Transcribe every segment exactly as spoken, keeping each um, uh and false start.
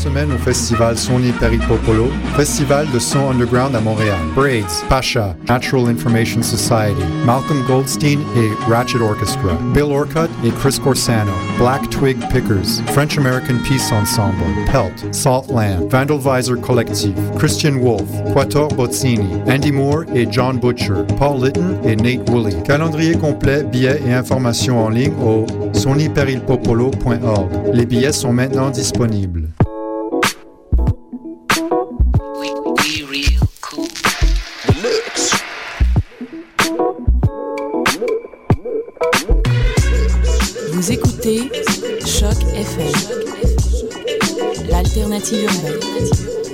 semaine au festival Sony Peripopolo, festival de son underground à Montréal. Braids, Pasha, Natural Information Society, Malcolm Goldstein et Ratchet Orchestra, Bill Orcutt et Chris Corsano, Black Twig Pickers, French American Peace Ensemble, Pelt, Saltland, Vandalvisor Collectif, Christian Wolf, Quattor Bozzini, Andy Moore et John Butcher, Paul Litton et Nate Woolley. Calendrier complet, billets et informations en ligne au sony peripopolo point org. Les billets sont maintenant disponibles. Vous écoutez Choc F M, l'alternative urbaine.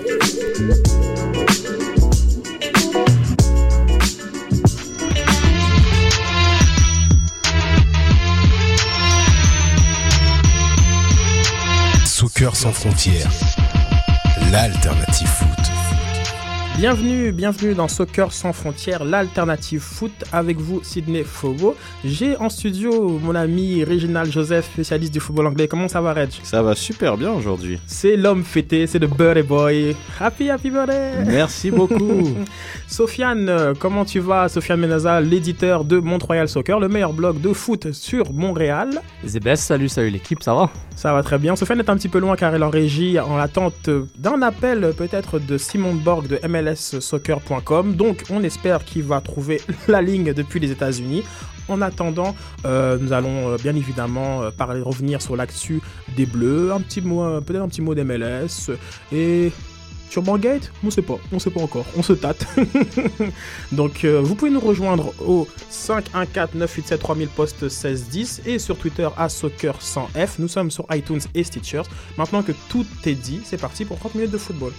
Soccer sans frontières, l'alternative foot. Bienvenue, bienvenue dans Soccer sans frontières, l'alternative foot, avec vous Sydney Fogo. J'ai en studio mon ami Réginald Joseph, spécialiste du football anglais. Comment ça va, Reg? Ça va super bien aujourd'hui. C'est l'homme fêté, c'est le birthday boy. Happy, happy birthday. Merci beaucoup. Sofiane, comment tu vas? Sofiane Menaza, l'éditeur de Mont-Royal Soccer, le meilleur blog de foot sur Montréal. C'est best, salut, salut l'équipe, ça va? Ça va très bien. Sofiane est un petit peu loin car elle est en régie en attente d'un appel peut-être de Simon Borg de M L S soccer point com. Donc on espère qu'il va trouver la ligne depuis les États-Unis. En attendant, euh, nous allons euh, bien évidemment euh, parler, revenir sur l'actu des Bleus, un petit mot, euh, peut-être un petit mot d'M L S et sur Bangate, on ne sait pas, on ne sait pas encore, on se tâte. Donc euh, vous pouvez nous rejoindre au cinq un quatre neuf huit sept trois mille post seize dix et sur Twitter à soccer cent F. Nous sommes sur iTunes et Stitchers. Maintenant que tout est dit, c'est parti pour trente minutes de football.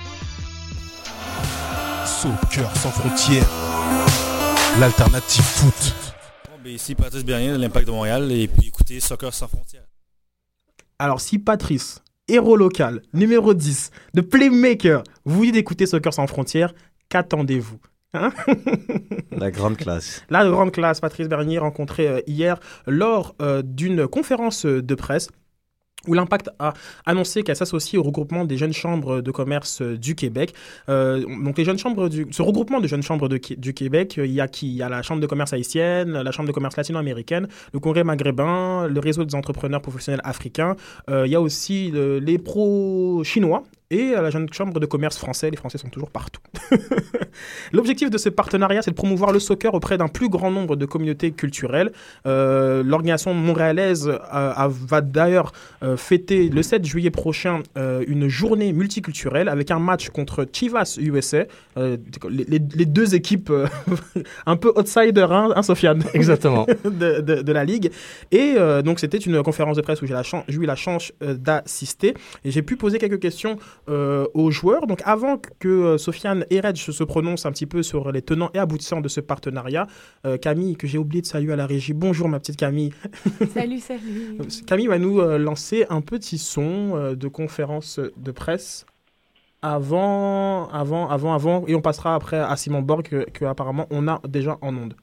Soccer sans frontières, l'alternative foot. Bon, ben ici Patrice Bernier de l'Impact de Montréal et puis écoutez Soccer sans frontières. Alors si Patrice, héros local, numéro dix, de Playmaker, vous voulez d'écouter Soccer sans frontières, qu'attendez-vous? Hein? La grande classe. La grande classe, Patrice Bernier rencontré euh, hier lors euh, d'une conférence de presse où l'Impact a annoncé qu'elle s'associe au regroupement des jeunes chambres de commerce du Québec. Euh, donc les jeunes chambres du, ce regroupement de jeunes chambres de, du Québec, il y a qui? Il y a la chambre de commerce haïtienne, la chambre de commerce latino-américaine, le congrès maghrébin, le réseau des entrepreneurs professionnels africains. Euh, il y a aussi le, les pros chinois et la jeune chambre de commerce français. Les Français sont toujours partout. L'objectif de ce partenariat, c'est de promouvoir le soccer auprès d'un plus grand nombre de communautés culturelles. Euh, l'organisation montréalaise euh, a, va d'ailleurs euh, fêter le sept juillet prochain euh, une journée multiculturelle avec un match contre Chivas U S A. Euh, les, les, les deux équipes euh, un peu outsider, hein, hein Sofiane? Exactement. de, de, de la Ligue. Et euh, donc, c'était une conférence de presse où j'ai, la chan- j'ai eu la chance euh, d'assister. Et j'ai pu poser quelques questions Euh, aux joueurs. Donc avant que euh, Sofiane et Reg se prononcent un petit peu sur les tenants et aboutissants de ce partenariat, euh, Camille, que j'ai oublié de saluer à la régie. Bonjour ma petite Camille. Salut, salut. Camille va nous euh, lancer un petit son euh, de conférence de presse avant, avant, avant, avant, et on passera après à Simon Borg que, que apparemment on a déjà en onde.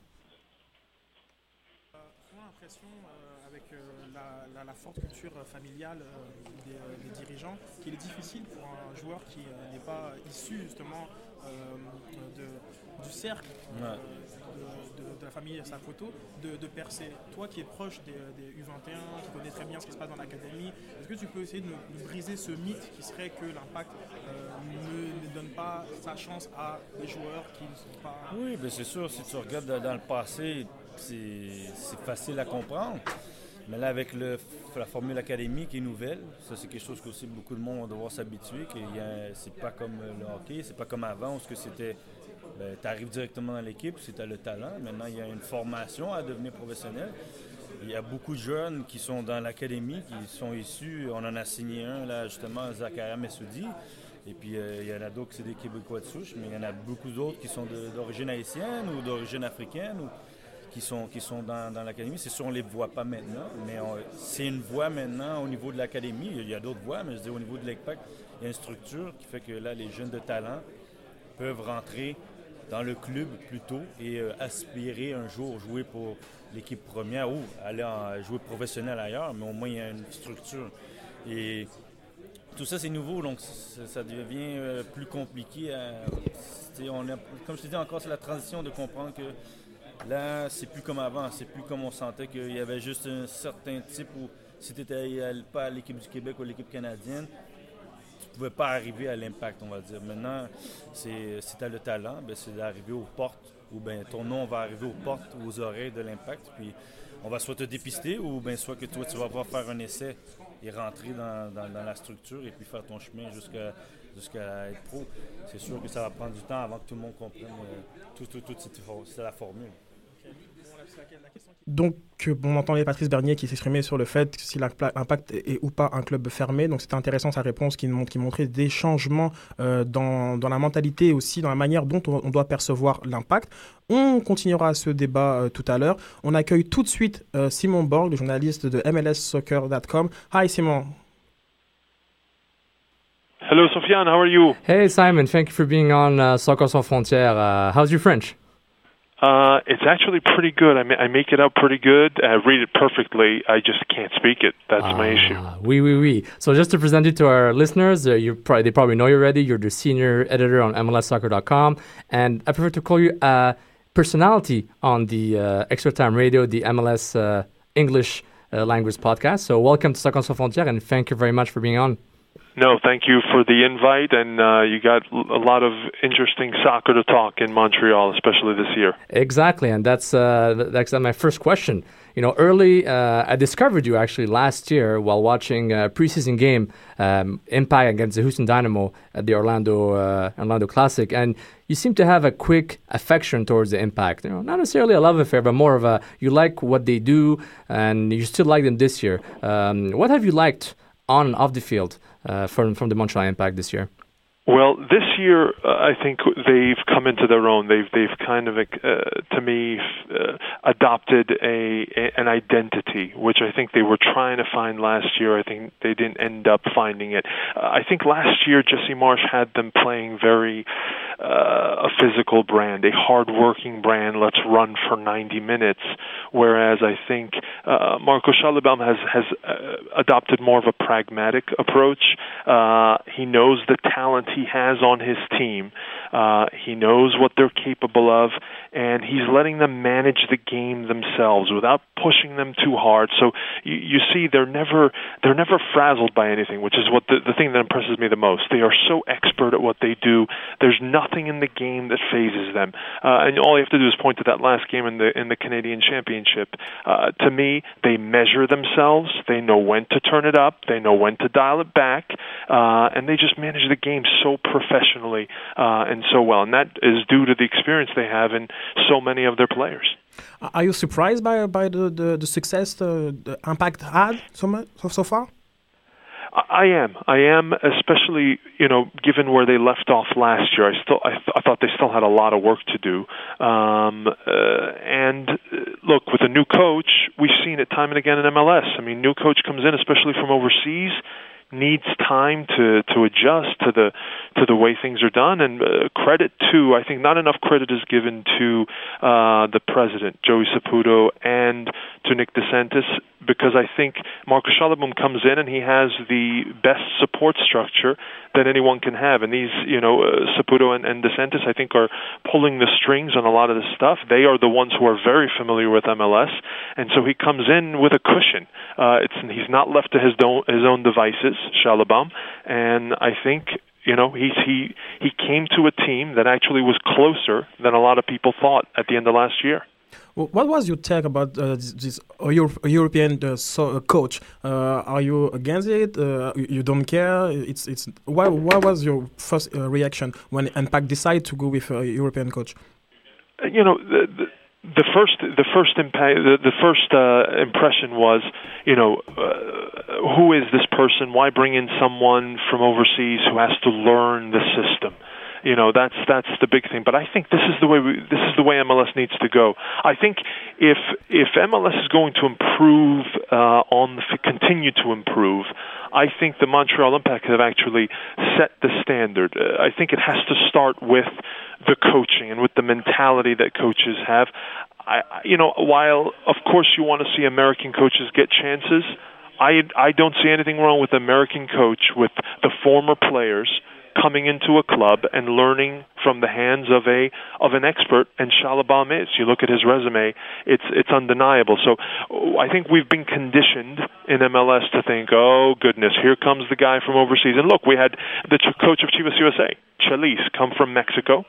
On a l'impression, euh, avec euh, la, la, la forte culture familiale euh, des, euh, des dirigeants, qu'il est difficile pour un joueur qui euh, n'est pas issu justement euh, de, du cercle euh, de, de, de la famille Sakoto de, de percer. Toi qui es proche des, des U vingt et un, qui connais très bien ce qui se passe dans l'académie, est-ce que tu peux essayer de, de briser ce mythe qui serait que l'Impact euh, ne, ne donne pas sa chance à des joueurs qui ne sont pas... Oui, bien c'est sûr, si tu regardes dans le passé, c'est, c'est facile à comprendre. Mais là, avec le, la formule académique qui est nouvelle, ça c'est quelque chose que aussi beaucoup de monde va devoir s'habituer, que y a, c'est pas comme le hockey, c'est pas comme avant où c'était, ben, tu arrives directement dans l'équipe, si tu as le talent. Maintenant, il y a une formation à devenir professionnel. Il y a beaucoup de jeunes qui sont dans l'académie, qui sont issus, on en a signé un là justement, Zakaria Messoudi. Et puis euh, il y en a d'autres qui sont des Québécois de souche, mais il y en a beaucoup d'autres qui sont de, d'origine haïtienne ou d'origine africaine. Ou, qui sont, qui sont dans, dans l'académie. C'est sûr, on ne les voit pas maintenant, mais on, c'est une voie maintenant au niveau de l'académie. Il y a d'autres voies, mais je dis au niveau de l'Impact, il y a une structure qui fait que là, les jeunes de talent peuvent rentrer dans le club plus tôt et euh, aspirer un jour jouer pour l'équipe première ou aller en, jouer professionnel ailleurs, mais au moins, il y a une structure. Et tout ça, c'est nouveau, donc ça, ça devient euh, plus compliqué. À, on a, comme je te dis encore, c'est la transition de comprendre que là, c'est plus comme avant. C'est plus comme on sentait qu'il y avait juste un certain type où si tu n'étais pas à l'équipe du Québec ou à l'équipe canadienne, tu ne pouvais pas arriver à l'impact, on va dire. Maintenant, c'est, si tu as le talent, ben, c'est d'arriver aux portes, ou bien ton nom va arriver aux portes ou aux oreilles de l'impact. Puis on va soit te dépister, ou bien soit que toi, tu vas pouvoir faire un essai et rentrer dans, dans, dans la structure et puis faire ton chemin jusqu'à, jusqu'à être pro. C'est sûr que ça va prendre du temps avant que tout le monde comprenne euh, tout, tout, tout, c'est, c'est la formule. Donc, on entendait Patrice Bernier qui s'exprimait sur le fait si l'Impact est ou pas un club fermé. Donc, c'était intéressant sa réponse qui, montre, qui montrait des changements euh, dans, dans la mentalité et aussi dans la manière dont on, on doit percevoir l'Impact. On continuera ce débat euh, tout à l'heure. On accueille tout de suite euh, Simon Borg, le journaliste de M L S soccer dot com. Hi, Simon. Hello, Sofiane. How are you? Hey, Simon. Thank you for being on uh, Soccer Sans Frontières. Uh, how's your French? Uh, it's actually pretty good. I, ma- I make it out pretty good. I read it perfectly. I just can't speak it. That's uh, my issue. Oui, oui, oui. So just to present you to our listeners, uh, you probably, they probably know you already. You're the senior editor on M L S soccer dot com. And I prefer to call you a personality on the uh, Extra Time Radio, the M L S uh, English uh, language podcast. So welcome to Soccer Sans Frontières, and thank you very much for being on. No, thank you for the invite, and uh, you got a lot of interesting soccer to talk in Montreal, especially this year. Exactly, and that's uh, that's my first question. You know, early, uh, I discovered you actually last year while watching a preseason game, um, Impact against the Houston Dynamo at the Orlando uh, Orlando Classic, and you seem to have a quick affection towards the Impact. You know, not necessarily a love affair, but more of a you like what they do, and you still like them this year. Um, what have you liked on and off the field uh, from from the Montreal Impact this year? Well, this year uh, I think they've come into their own. They've they've kind of, uh, to me, uh, adopted a, a an identity, which I think they were trying to find last year. I think they didn't end up finding it. Uh, I think last year Jesse Marsh had them playing very uh, a physical brand, a hard-working brand. Let's run for ninety minutes. Whereas I think uh, Marco Schallebaum has has uh, adopted more of a pragmatic approach. Uh, he knows the talent he has on his team. Uh, he knows what they're capable of, and he's letting them manage the game themselves without pushing them too hard. So you, you see, they're never they're never frazzled by anything, which is what the, the thing that impresses me the most. They are so expert at what they do. There's nothing in the game that phases them, uh, and all you have to do is point to that last game in the in the Canadian Championship. Uh, to me, they measure themselves. They know when to turn it up. They know when to dial it back, uh, and they just manage the game so professionally uh, and so well. And that is due to the experience they have in so many of their players. Are you surprised by by the, the, the success uh, the Impact had so, much, so, so far? I am. I am, especially, you know, given where they left off last year. I still, I, th- I thought they still had a lot of work to do. Um, uh, and uh, look, with a new coach, we've seen it time and again in M L S. I mean, new coach comes in, especially from overseas, needs time to, to adjust to the to the way things are done, and uh, credit to, I think not enough credit is given to uh, the president, Joey Saputo, and to Nick DeSantis, because I think Marco Schallebaum comes in and he has the best support structure that anyone can have. And these, you know, uh, Saputo and, and DeSantis, I think, are pulling the strings on a lot of this stuff. They are the ones who are very familiar with M L S, and so he comes in with a cushion. Uh, it's he's not left to his, do- his own devices, Schallebaum, and I think, you know, he's, he he came to a team that actually was closer than a lot of people thought at the end of last year. Well, what was your take about uh, this, this uh, Euro- European uh, so, uh, coach? Uh, are you against it? Uh, you don't care? It's it's. Why? What was your first uh, reaction when Impact decided to go with a European coach? You know, the, the, the first the first impact the, the first uh, impression was, you know, uh, who is this person? Why bring in someone from overseas who has to learn the system? You know, that's that's the big thing. But I think this is the way we, this is the way M L S needs to go. I think if if M L S is going to improve uh, on the continue to improve, I think the Montreal Impact have actually set the standard. Uh, I think it has to start with the coaching and with the mentality that coaches have. I, you know, while of course you want to see American coaches get chances, I I don't see anything wrong with the American coach, with the former players coming into a club and learning from the hands of a of an expert, and Schalabam is. You look at his resume, it's it's undeniable. So I think we've been conditioned in M L S to think, oh goodness, here comes the guy from overseas. And look, we had the coach of Chivas U S A, Chelis, come from Mexico.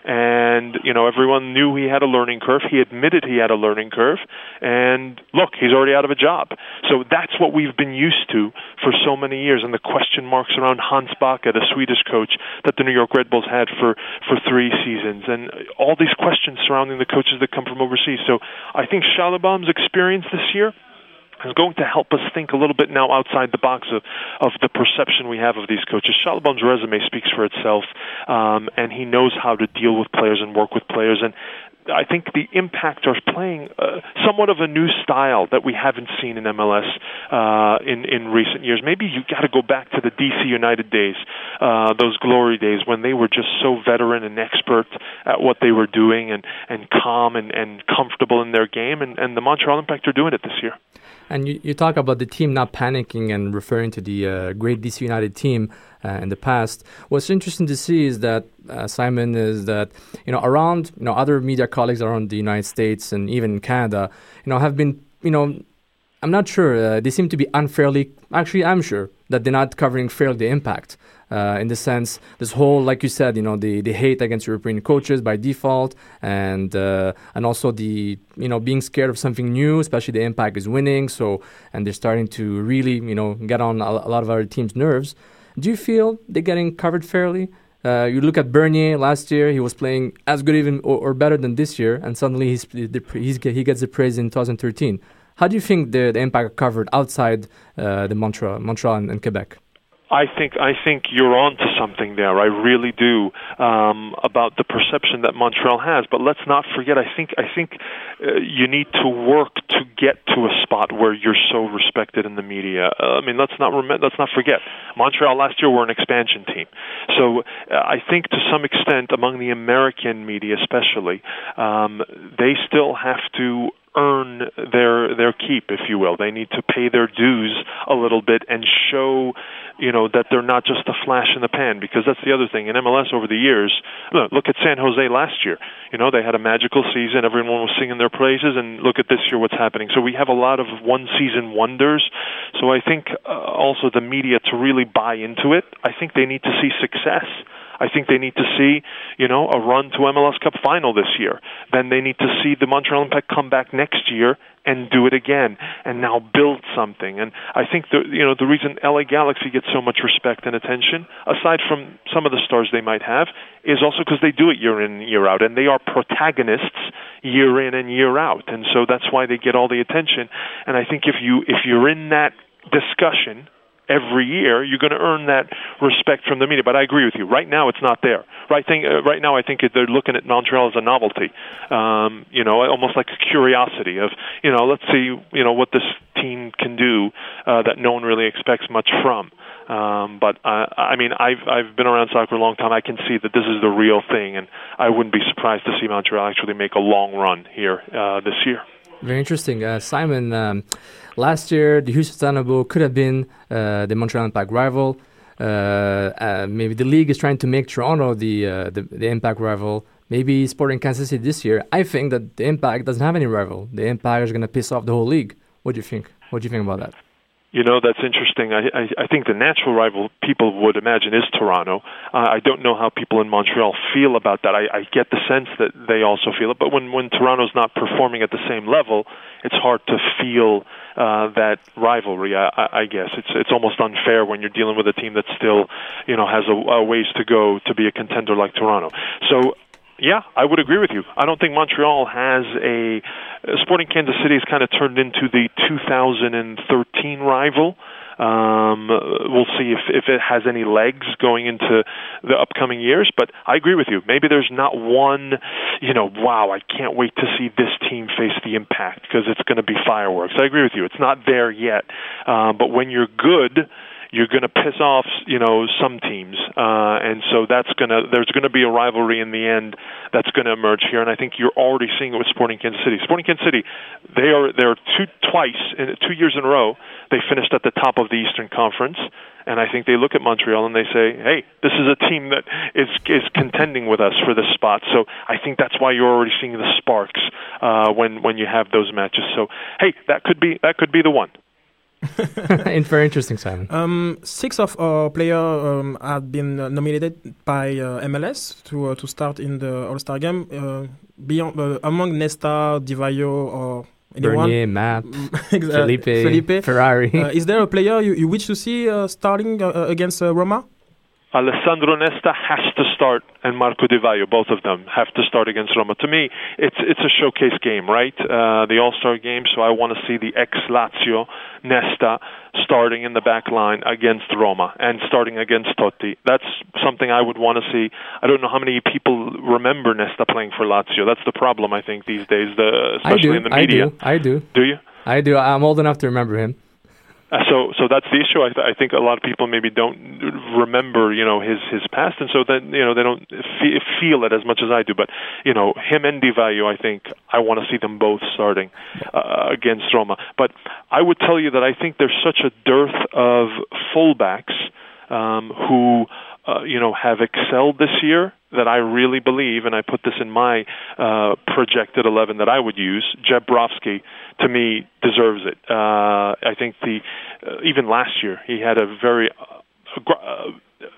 And, you know, everyone knew he had a learning curve. He admitted he had a learning curve. And, look, he's already out of a job. So that's what we've been used to for so many years. And the question marks around Hans Backe, the Swedish coach that the New York Red Bulls had for, for three seasons. And all these questions surrounding the coaches that come from overseas. So I think Schalabam's experience this year is going to help us think a little bit now outside the box of, of the perception we have of these coaches. Schalabam's resume speaks for itself, um, and he knows how to deal with players and work with players. And I think the Impact are playing uh, somewhat of a new style that we haven't seen in M L S uh, in, in recent years. Maybe you got to go back to the D C United days, uh, those glory days when they were just so veteran and expert at what they were doing and, and calm and, and comfortable in their game. And, and the Montreal Impact are doing it this year. And you, you talk about the team not panicking and referring to the uh, great D C United team uh, in the past. What's interesting to see is that, uh, Simon, is that, you know, around, you know, other media colleagues around the United States and even Canada, you know, have been, you know, I'm not sure, uh, they seem to be unfairly, actually I'm sure, that they're not covering fairly the Impact. Uh, in the sense, this whole, like you said, you know, the, the hate against European coaches by default, and uh, and also the, you know, being scared of something new, especially the Impact is winning, so, and they're starting to really, you know, get on a, a lot of other teams' nerves. Do you feel they're getting covered fairly? Uh, you look at Bernier last year; he was playing as good, even or, or better than this year, and suddenly he's, he's he gets the praise in twenty thirteen. How do you think the, the Impact are covered outside uh, the Montreal, Montreal and, and Quebec? I think I think you're on to something there. I really do, um, about the perception that Montreal has. But let's not forget. I think I think uh, you need to work to get to a spot where you're so respected in the media. Uh, I mean, let's not rem- let's not forget. Montreal last year were an expansion team, so uh, I think to some extent among the American media, especially, um, they still have to earn their their keep, if you will. They need to pay their dues a little bit and show, you know, that they're not just a flash in the pan, because that's the other thing. In M L S over the years, look, look at San Jose last year. You know, they had a magical season. Everyone was singing their praises, and look at this year what's happening. So we have a lot of one-season wonders. So I think uh, also the media, to really buy into it, I think they need to see success. I think they need to see, you know, a run to M L S Cup final this year. Then they need to see the Montreal Impact come back next year and do it again, and now build something. And I think the you know the reason L A Galaxy gets so much respect and attention, aside from some of the stars they might have, is also because they do it year in and year out, and they are protagonists year in and year out, and so that's why they get all the attention. And I think if you if you're in that discussion every year, you're going to earn that respect from the media. But I agree with you. Right now, it's not there. Right thing. Uh, right now, I think they're looking at Montreal as a novelty. Um, you know, almost like a curiosity of, you know, let's see, you know, what this team can do uh, that no one really expects much from. Um, but uh, I mean, I've I've been around soccer a long time. I can see that this is the real thing, and I wouldn't be surprised to see Montreal actually make a long run here uh, this year. Very interesting. Uh, Simon, um, last year, the Houston Dynamo could have been uh, the Montreal Impact rival. Uh, uh, maybe the league is trying to make Toronto the, uh, the the Impact rival. Maybe Sporting Kansas City this year. I think that the Impact doesn't have any rival. The Impact is going to piss off the whole league. What do you think? What do you think about that? You know, that's interesting. I, I, I think the natural rival people would imagine is Toronto. Uh, I don't know how people in Montreal feel about that. I, I get the sense that they also feel it. But when, when Toronto's not performing at the same level, it's hard to feel uh, that rivalry, I, I, I guess. It's it's almost unfair when you're dealing with a team that still, you know, has a, a ways to go to be a contender like Toronto. So, yeah, I would agree with you. I don't think Montreal has a... Sporting Kansas City has kind of turned into the two thousand thirteen rival. Um, we'll see if, if it has any legs going into the upcoming years. But I agree with you. Maybe there's not one, you know, wow, I can't wait to see this team face the Impact because it's going to be fireworks. I agree with you. It's not there yet. Um, but when you're good, you're going to piss off, you know, some teams, uh, and so that's going to there's going to be a rivalry in the end that's going to emerge here, and I think you're already seeing it with Sporting Kansas City. Sporting Kansas City, they are they're two twice in two years in a row they finished at the top of the Eastern Conference. And I think they look at Montreal and they say, hey, this is a team that is is contending with us for this spot. So I think that's why you're already seeing the sparks uh, when when you have those matches. So, hey, that could be that could be the one. It's very interesting, Simon. Um, six of our players um, have been uh, nominated by uh, M L S to uh, to start in the All-Star game. Uh, beyond uh, among Nesta, Di Vaio, or anyone? Bernier, Matt, Exa- Felipe, Felipe, Ferrari. Uh, is there a player you, you wish to see uh, starting uh, against uh, Roma? Alessandro Nesta has to start, and Marco Di Vaio, both of them, have to start against Roma. To me, it's it's a showcase game, right? Uh, the All-Star game, so I want to see the ex-Lazio Nesta starting in the back line against Roma and starting against Totti. That's something I would want to see. I don't know how many people remember Nesta playing for Lazio. That's the problem, I think, these days, the, especially I do, in the media. I do, I do. Do you? I do. I'm old enough to remember him. Uh, so, so that's the issue. I, th- I think a lot of people maybe don't remember, you know, his his past, and so then you know they don't fe- feel it as much as I do. But you know, him and Di Vaio, I think I want to see them both starting uh, against Roma. But I would tell you that I think there's such a dearth of fullbacks um, who, uh, you know, have excelled this year that I really believe, and I put this in my uh, projected eleven that I would use, Jeb Brovsky, to me, deserves it. Uh, I think the uh, even last year, he had a very uh, uh,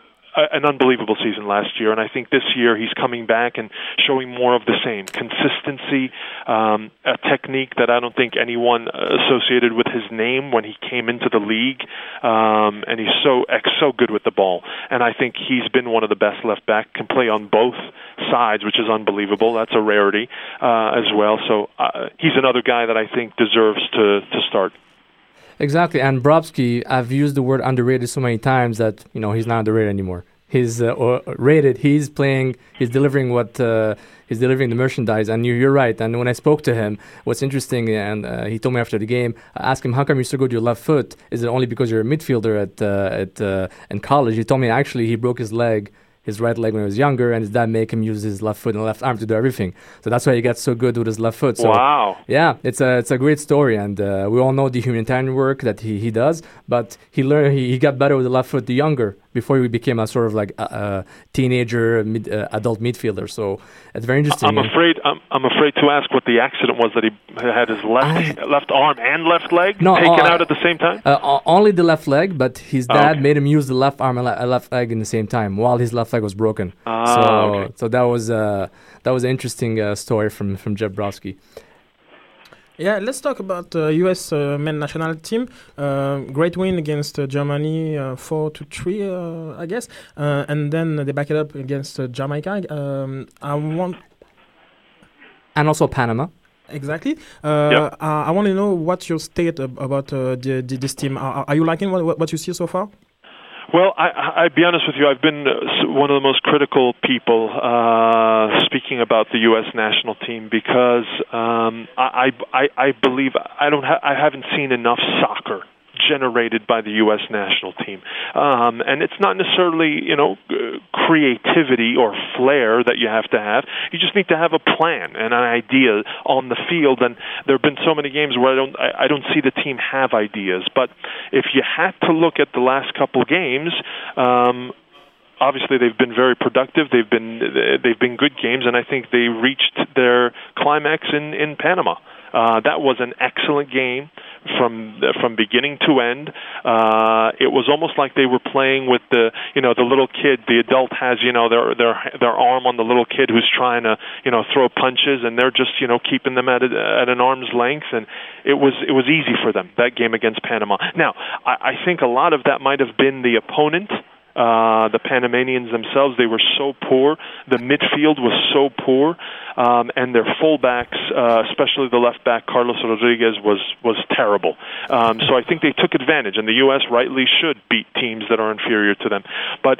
an unbelievable season last year, and I think this year he's coming back and showing more of the same consistency, um, a technique that I don't think anyone associated with his name when he came into the league, um, and he's so so good with the ball. And I think he's been one of the best left back, can play on both sides, which is unbelievable. That's a rarity uh, as well. So uh, he's another guy that I think deserves to to start. Exactly, and Brovsky, I've used the word underrated so many times that, you know, he's not underrated anymore. He's uh, rated, he's playing, he's delivering what, uh, he's delivering the merchandise, and you, you're right. And when I spoke to him, what's interesting, and uh, he told me after the game, I asked him, how come you're so good with your left foot? Is it only because you're a midfielder at, uh, at uh, in college? He told me actually he broke his leg, his right leg when he was younger, and his dad made him use his left foot and left arm to do everything. So that's why he got so good with his left foot. So, wow. Yeah, it's a it's a great story, and uh, we all know the humanitarian work that he, he does, but he learned he, he got better with the left foot the younger, before he became a sort of like a, a teenager, mid, uh, adult midfielder. So it's very interesting. I'm afraid I'm, I'm afraid to ask what the accident was that he had his left I, left arm and left leg no, taken uh, out at the same time? Uh, only the left leg, but his dad oh, okay. made him use the left arm and le- left leg in the same time while his left leg was broken. Ah, so okay. so that was uh, that was an interesting uh, story from from Jeb Brovsky. Yeah, let's talk about the uh, U S uh, men national team. Uh, great win against uh, Germany, uh, four to three, uh, I guess, uh, and then they back it up against uh, Jamaica. Um, I want, and also Panama. Exactly. Uh, yep. uh, I want to know what's your state ab- about uh, the, the, this team. Are, are you liking what, what you see so far? Well, I, I'd be honest with you. I've been one of the most critical people uh, speaking about the U S national team because um, I, I, I believe I don't ha- I haven't seen enough soccer generated by the U S national team. Um, and it's not necessarily, you know, creativity or flair that you have to have. You just need to have a plan and an idea on the field. And there have been so many games where I don't, I, I don't see the team have ideas. But if you had to look at the last couple games, um, obviously they've been very productive. They've been, they've been good games. And I think they reached their climax in, in Panama. Uh, that was an excellent game from from beginning to end. Uh, it was almost like they were playing with the you know the little kid. The adult has you know their their their arm on the little kid who's trying to you know throw punches, and they're just you know keeping them at a, at an arm's length. And it was it was easy for them, that game against Panama. Now I, I think a lot of that might have been the opponent. Uh, the Panamanians themselves, they were so poor. The midfield was so poor, um, and their fullbacks, uh, especially the left back Carlos Rodriguez, was was terrible. Um, so I think they took advantage, and the U S rightly should beat teams that are inferior to them. But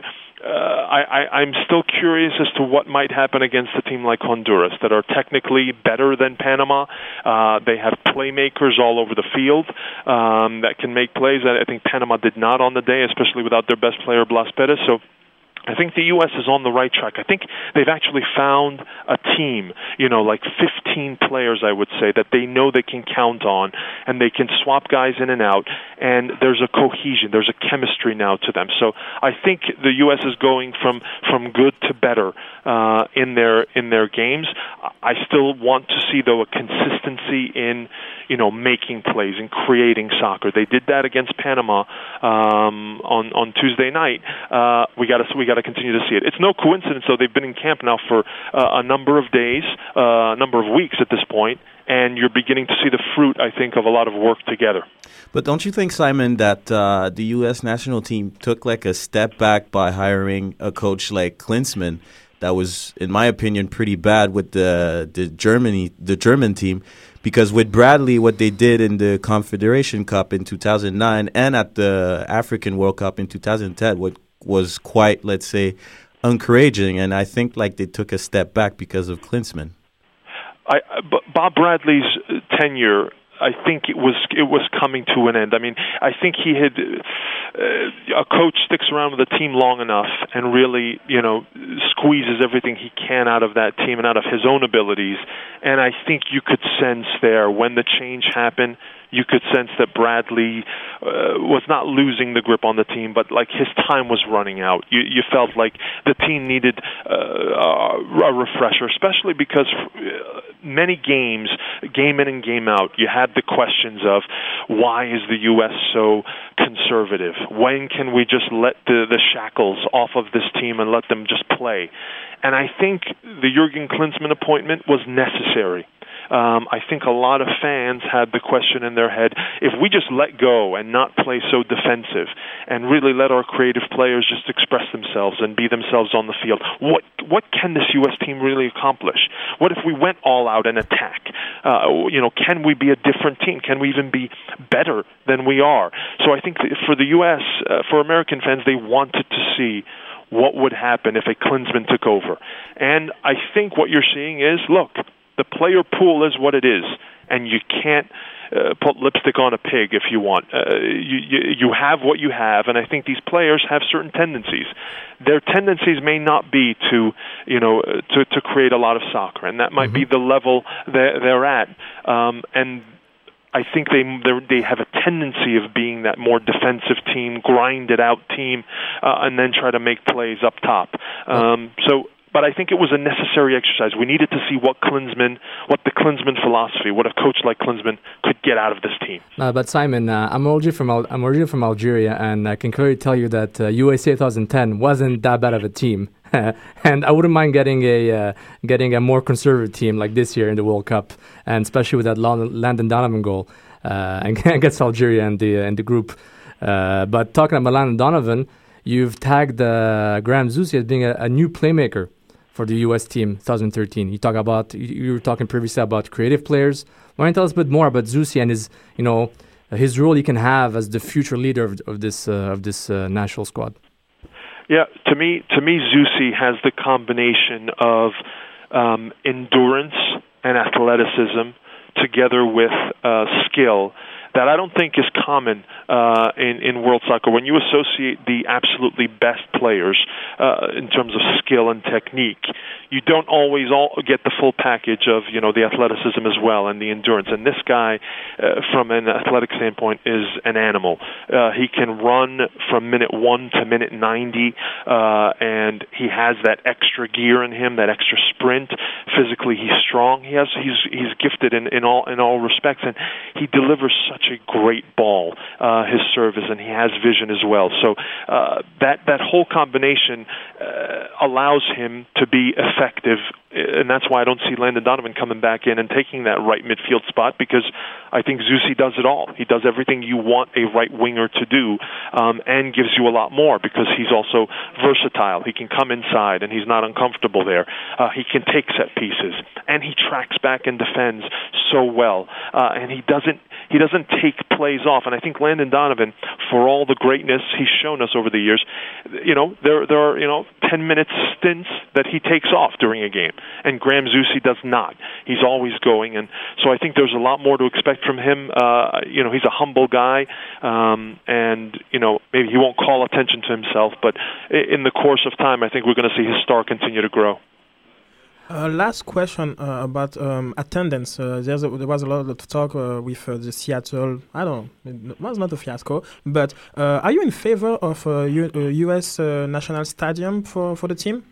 uh, I, I, I'm still curious as to what might happen against a team like Honduras that are technically better than Panama. Uh, they have playmakers all over the field um, that can make plays. I think Panama did not on the day, especially without their best player, Blas Perez. So I think the U S is on the right track. I think they've actually found a team, you know, like fifteen players, I would say, that they know they can count on, and they can swap guys in and out, and there's a cohesion, there's a chemistry now to them. So I think the U S is going from, from good to better uh, in their in their games. I still want to see, though, a consistency in, you know, making plays and creating soccer. They did that against Panama um, on on Tuesday night. Uh, we got to we got to continue to see it. It's no coincidence, though. They've been in camp now for uh, a number of days, uh, a number of weeks at this point, and you're beginning to see the fruit, I think, of a lot of work together. But don't you think, Simon, that uh, the U S national team took like a step back by hiring a coach like Klinsmann that was, in my opinion, pretty bad with the the Germany the German team? Because with Bradley, what they did in the Confederation Cup in two thousand nine and at the African World Cup in two thousand ten what was quite, let's say, encouraging. And I think like they took a step back because of Klinsmann. I, Bob Bradley's tenure, I think it was it was coming to an end. I mean, I think he had uh, a coach sticks around with a team long enough and really, you know, squeezes everything he can out of that team and out of his own abilities. And I think you could sense there when the change happened, you could sense that Bradley uh, was not losing the grip on the team, but like his time was running out. You, you felt like the team needed uh, a refresher, especially because many games, game in and game out, you had the questions of why is the U S so conservative? When can we just let the, the shackles off of this team and let them just play? And I think the Jurgen Klinsmann appointment was necessary. Um, I think a lot of fans had the question in their head, if we just let go and not play so defensive and really let our creative players just express themselves and be themselves on the field, what what can this U S team really accomplish? What if we went all out and attack? Uh, you know, can we be a different team? Can we even be better than we are? So I think for the U S, uh, for American fans, they wanted to see what would happen if a Klinsmann took over. And I think what you're seeing is, look, the player pool is what it is, and you can't uh, put lipstick on a pig if you want. Uh, you, you you have what you have, and I think these players have certain tendencies. Their tendencies may not be to, you know, to to create a lot of soccer, and that might mm-hmm. be the level they're, they're at. Um, and I think they they have a tendency of being that more defensive team, grinded out team, uh, and then try to make plays up top. Um, so. But I think it was a necessary exercise. We needed to see what Klinsmann, what the Klinsmann philosophy, what a coach like Klinsmann could get out of this team. Uh, but Simon, uh, I'm originally from Al- I'm originally from Algeria, and I can clearly tell you that uh, U S A twenty ten wasn't that bad of a team. And I wouldn't mind getting a uh, getting a more conservative team like this year in the World Cup, and especially with that Landon Donovan goal uh, against Algeria and the uh, in the group. Uh, but talking about Landon Donovan, you've tagged uh, Graham Zusi as being a, a new playmaker for the U S team twenty thirteen. You talk about you were talking previously about creative players. Why don't you tell us a bit more about Zusi and his, you know, his role he can have as the future leader of, of this uh, of this uh, national squad? Yeah, to me, to me, Zusi has the combination of um, endurance and athleticism together with uh, skill that I don't think is common uh, in, in world soccer. When you associate the absolutely best players uh, in terms of skill and technique, you don't always all get the full package of, you know, the athleticism as well and the endurance. And this guy, uh, from an athletic standpoint, is an animal. Uh, he can run from minute one to minute ninety, uh, and he has that extra gear in him, that extra sprint. Physically, he's strong. He has he's he's gifted in, in all in all respects, and he delivers such a great ball. Uh, his service, and he has vision as well. So uh, that that whole combination uh, allows him to be effective, and that's why I don't see Landon Donovan coming back in and taking that right midfield spot, because I think Zusi does it all. He does everything you want a right winger to do, um, and gives you a lot more because he's also versatile. He can come inside, and he's not uncomfortable there. Uh, he can take set pieces, and he tracks back and defends so well, uh, and he doesn't he doesn't take plays off. And I think Landon Landon Donovan, for all the greatness he's shown us over the years, you know, there there are, you know, ten-minute stints that he takes off during a game, and Graham Zusi does not. He's always going, and so I think there's a lot more to expect from him. Uh, you know, he's a humble guy, um, and, you know, maybe he won't call attention to himself, but in the course of time, I think we're going to see his star continue to grow. Uh, last question uh, about um, attendance. Uh, there's a, there was a lot of talk uh, with uh, the Seattle. I don't know. It was not a fiasco. But uh, are you in favor of a U- uh, U S uh, national stadium for, for the team?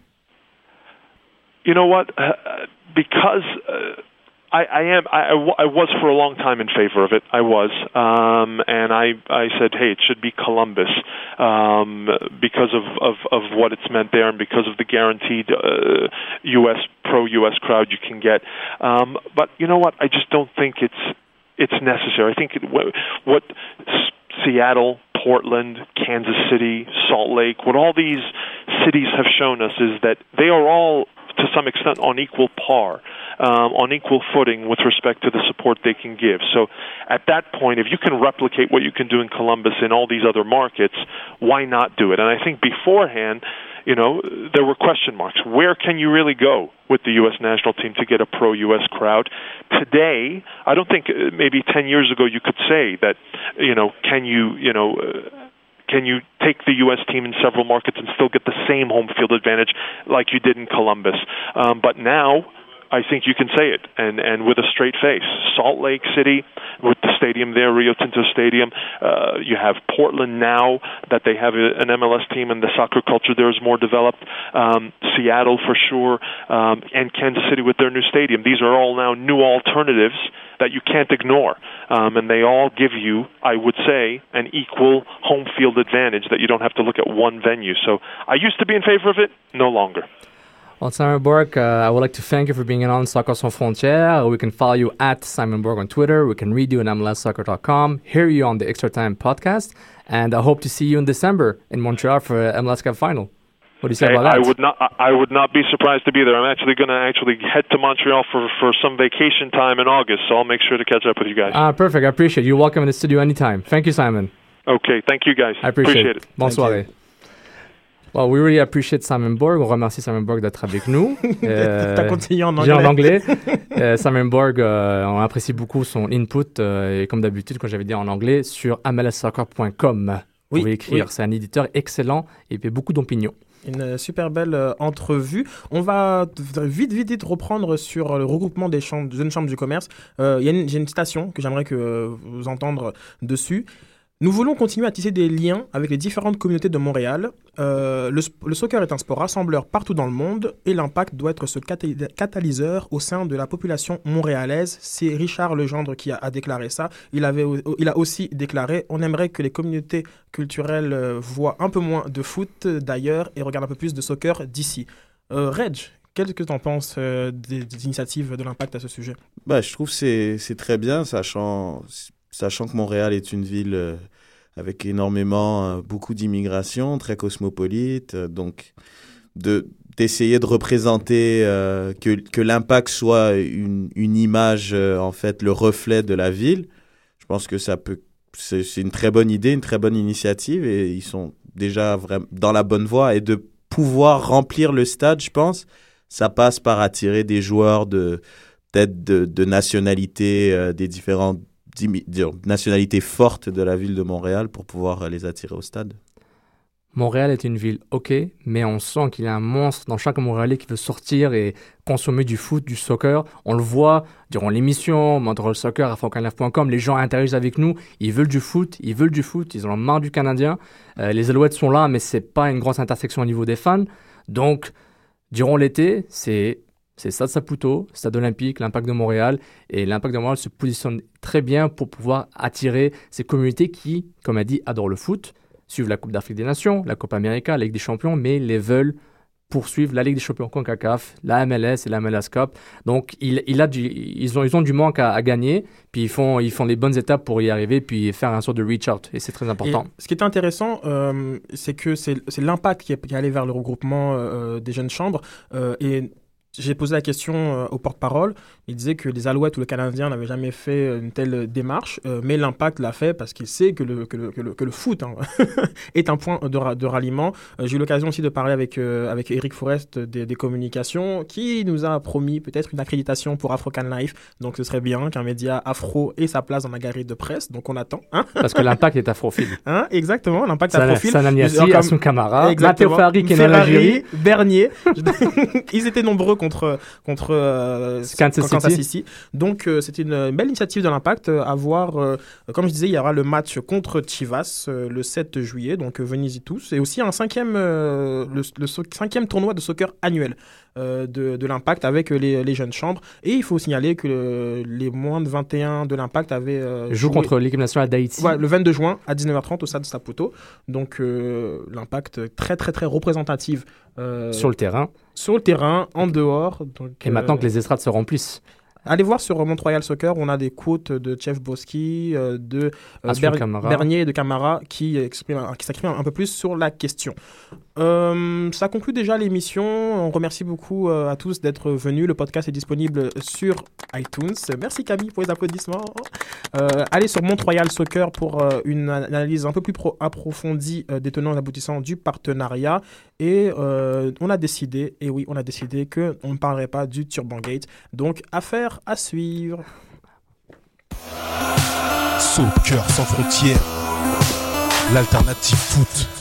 You know what? Uh, because uh, I, I am, I, I, w- I was for a long time in favor of it. I was, um, and I, I said, hey, it should be Columbus um, because of, of, of what it's meant there, and because of the guaranteed uh, U S pro-U S crowd you can get. Um, but you know what? I just don't think it's it's necessary. I think it, what, what Seattle, Portland, Kansas City, Salt Lake, what all these cities have shown us is that they are all, to some extent, on equal par, um, on equal footing with respect to the support they can give. So at that point, if you can replicate what you can do in Columbus in all these other markets, why not do it? And I think beforehand, you know, there were question marks. Where can you really go with the U S national team to get a pro-U S crowd? Today, I don't think uh, maybe ten years ago you could say that, you know, can you, you know, uh, can you take the U S team in several markets and still get the same home field advantage like you did in Columbus? Um, but now, I think you can say it, and, and with a straight face. Salt Lake City, with the stadium there, Rio Tinto Stadium. Uh, you have Portland now that they have a, an M L S team, and the soccer culture there is more developed. Um, Seattle for sure, um, and Kansas City with their new stadium. These are all now new alternatives that you can't ignore, um, and they all give you, I would say, an equal home field advantage that you don't have to look at one venue. So I used to be in favor of it, no longer. Well, Simon Bourque, uh, I would like to thank you for being on Soccer Sans Frontières. We can follow you at Simon Bourque on Twitter. We can read you on M L S soccer dot com, hear you on the Extra Time podcast, and I hope to see you in December in Montreal for M L S Cup final. What do you say hey, about that? I would not. I would not be surprised to be there. I'm actually going to actually head to Montreal for, for some vacation time in August, so I'll make sure to catch up with you guys. Ah, perfect. I appreciate it. You're welcome in the studio anytime. Thank you, Simon. Okay, thank you guys. I appreciate, appreciate it. Bonne soirée. Well, we really appreciate Simon Bourque. On remercie Simon Bourque d'être avec nous. Euh, T'as continué en anglais. J'ai en anglais. euh, Simon Bourque, euh, on apprécie beaucoup son input, euh, et comme d'habitude, quand j'avais dit en anglais, sur M L S soccer point com. Vous oui, pouvez écrire. Oui. C'est un éditeur excellent et il fait beaucoup d'opinions. Une super belle euh, entrevue. On va vite, vite, vite reprendre sur le regroupement des chambres, jeunes chambres du commerce. Euh, y a une, j'ai une citation que j'aimerais que euh, vous entendre dessus. Nous voulons continuer à tisser des liens avec les différentes communautés de Montréal. Euh, le, le soccer est un sport rassembleur partout dans le monde et l'impact doit être ce catal- catalyseur au sein de la population montréalaise. C'est Richard Legendre qui a, a déclaré ça. Il, avait, il a aussi déclaré « On aimerait que les communautés culturelles euh, voient un peu moins de foot d'ailleurs et regardent un peu plus de soccer d'ici. Euh, » Reg, qu'est-ce que tu en penses euh, des, des initiatives de l'impact à ce sujet? Bah, je trouve que c'est, c'est très bien, sachant... Sachant que Montréal est une ville euh, avec énormément, euh, beaucoup d'immigration, très cosmopolite, euh, donc de, d'essayer de représenter euh, que, que l'impact soit une, une image, euh, en fait, le reflet de la ville. Je pense que ça peut, c'est, c'est une très bonne idée, une très bonne initiative, et ils sont déjà vraiment dans la bonne voie. Et de pouvoir remplir le stade, je pense, ça passe par attirer des joueurs de peut-être de, de nationalités, euh, des différentes nationalités fortes de la ville de Montréal pour pouvoir les attirer au stade. Montréal est une ville ok, mais on sent qu'il y a un monstre dans chaque Montréalais qui veut sortir et consommer du foot, du soccer. On le voit durant l'émission, Montreal Soccer à francan live point com, les gens interagissent avec nous, ils veulent du foot, ils veulent du foot, ils en ont marre du Canadien. Euh, les Alouettes sont là, mais c'est pas une grosse intersection au niveau des fans. Donc, durant l'été, c'est... C'est Stade Saputo, Stade Olympique, l'Impact de Montréal. Et l'Impact de Montréal se positionne très bien pour pouvoir attirer ces communautés qui, comme a dit, adorent le foot, suivent la Coupe d'Afrique des Nations, la Coupe América, la Ligue des Champions, mais les veulent poursuivre la Ligue des Champions CONCACAF, la M L S et la M L S Cup. Donc, il, il a du, ils, ont, ils ont du manque à, à gagner, puis ils font, ils font les bonnes étapes pour y arriver, puis faire un sort de reach-out. Et c'est très important. Et ce qui est intéressant, euh, c'est que c'est, c'est l'impact qui est, qui est allé vers le regroupement euh, des jeunes chambres. Euh, et j'ai posé la question euh, au porte-parole. Il disait que les Alouettes ou le Canadien n'avaient jamais fait une telle démarche, euh, mais l'Impact l'a fait parce qu'il sait que le, que le, que le, que le foot hein, est un point de, ra- de ralliement. Euh, j'ai eu l'occasion aussi de parler avec, euh, avec Eric Forest des, des communications qui nous a promis peut-être une accréditation pour Afro-Can Life. Donc ce serait bien qu'un média afro ait sa place dans la galerie de presse. Donc on attend. Hein Parce que l'Impact est afrophile. Hein, exactement, l'Impact Sana- afrophile. Sananiasi, Comme- Assou Kamara, Exactement. Matteo Ferrari, Kenan Ferrari, Algiri. Bernier. Ils étaient nombreux contre, contre euh, Kansas Kansas City. City. Donc, euh, c'était une belle initiative de l'Impact euh, à voir. Euh, comme je disais, il y aura le match contre Chivas euh, le sept juillet. Donc, euh, venez-y tous. Et aussi un cinquième, euh, le, le so- cinquième tournoi de soccer annuel euh, de, de l'Impact avec les, les jeunes chambres. Et il faut signaler que le- les moins de vingt et un de l'Impact avaient euh, Joue joué- contre l'équipe nationale d'Haïti. Ouais, le vingt-deux juin à dix-neuf heures trente au stade Saputo. Donc, euh, l'Impact très, très, très représentative euh, Sur le terrain. sur le terrain, en dehors. Donc, Et maintenant euh, que les estrades se remplissent. Allez voir sur Mont-Royal Soccer, on a des quotes de Chef Boski, euh, de euh, Assou Ber- Kamara. Bernier et de Camara qui, expriment, qui s'expriment un peu plus sur la question. Euh, ça conclut déjà l'émission. On remercie beaucoup euh, à tous d'être venus. Le podcast est disponible sur iTunes. Merci Camille pour les applaudissements. Euh, allez sur Mont-Royal Soccer pour euh, une analyse un peu plus pro- approfondie euh, des tenants et aboutissants du partenariat. Et euh, on a décidé, et oui, on a décidé qu'on ne parlerait pas du Turban Gate. Donc, affaire à suivre. Soccer sans frontières, l'alternative foot.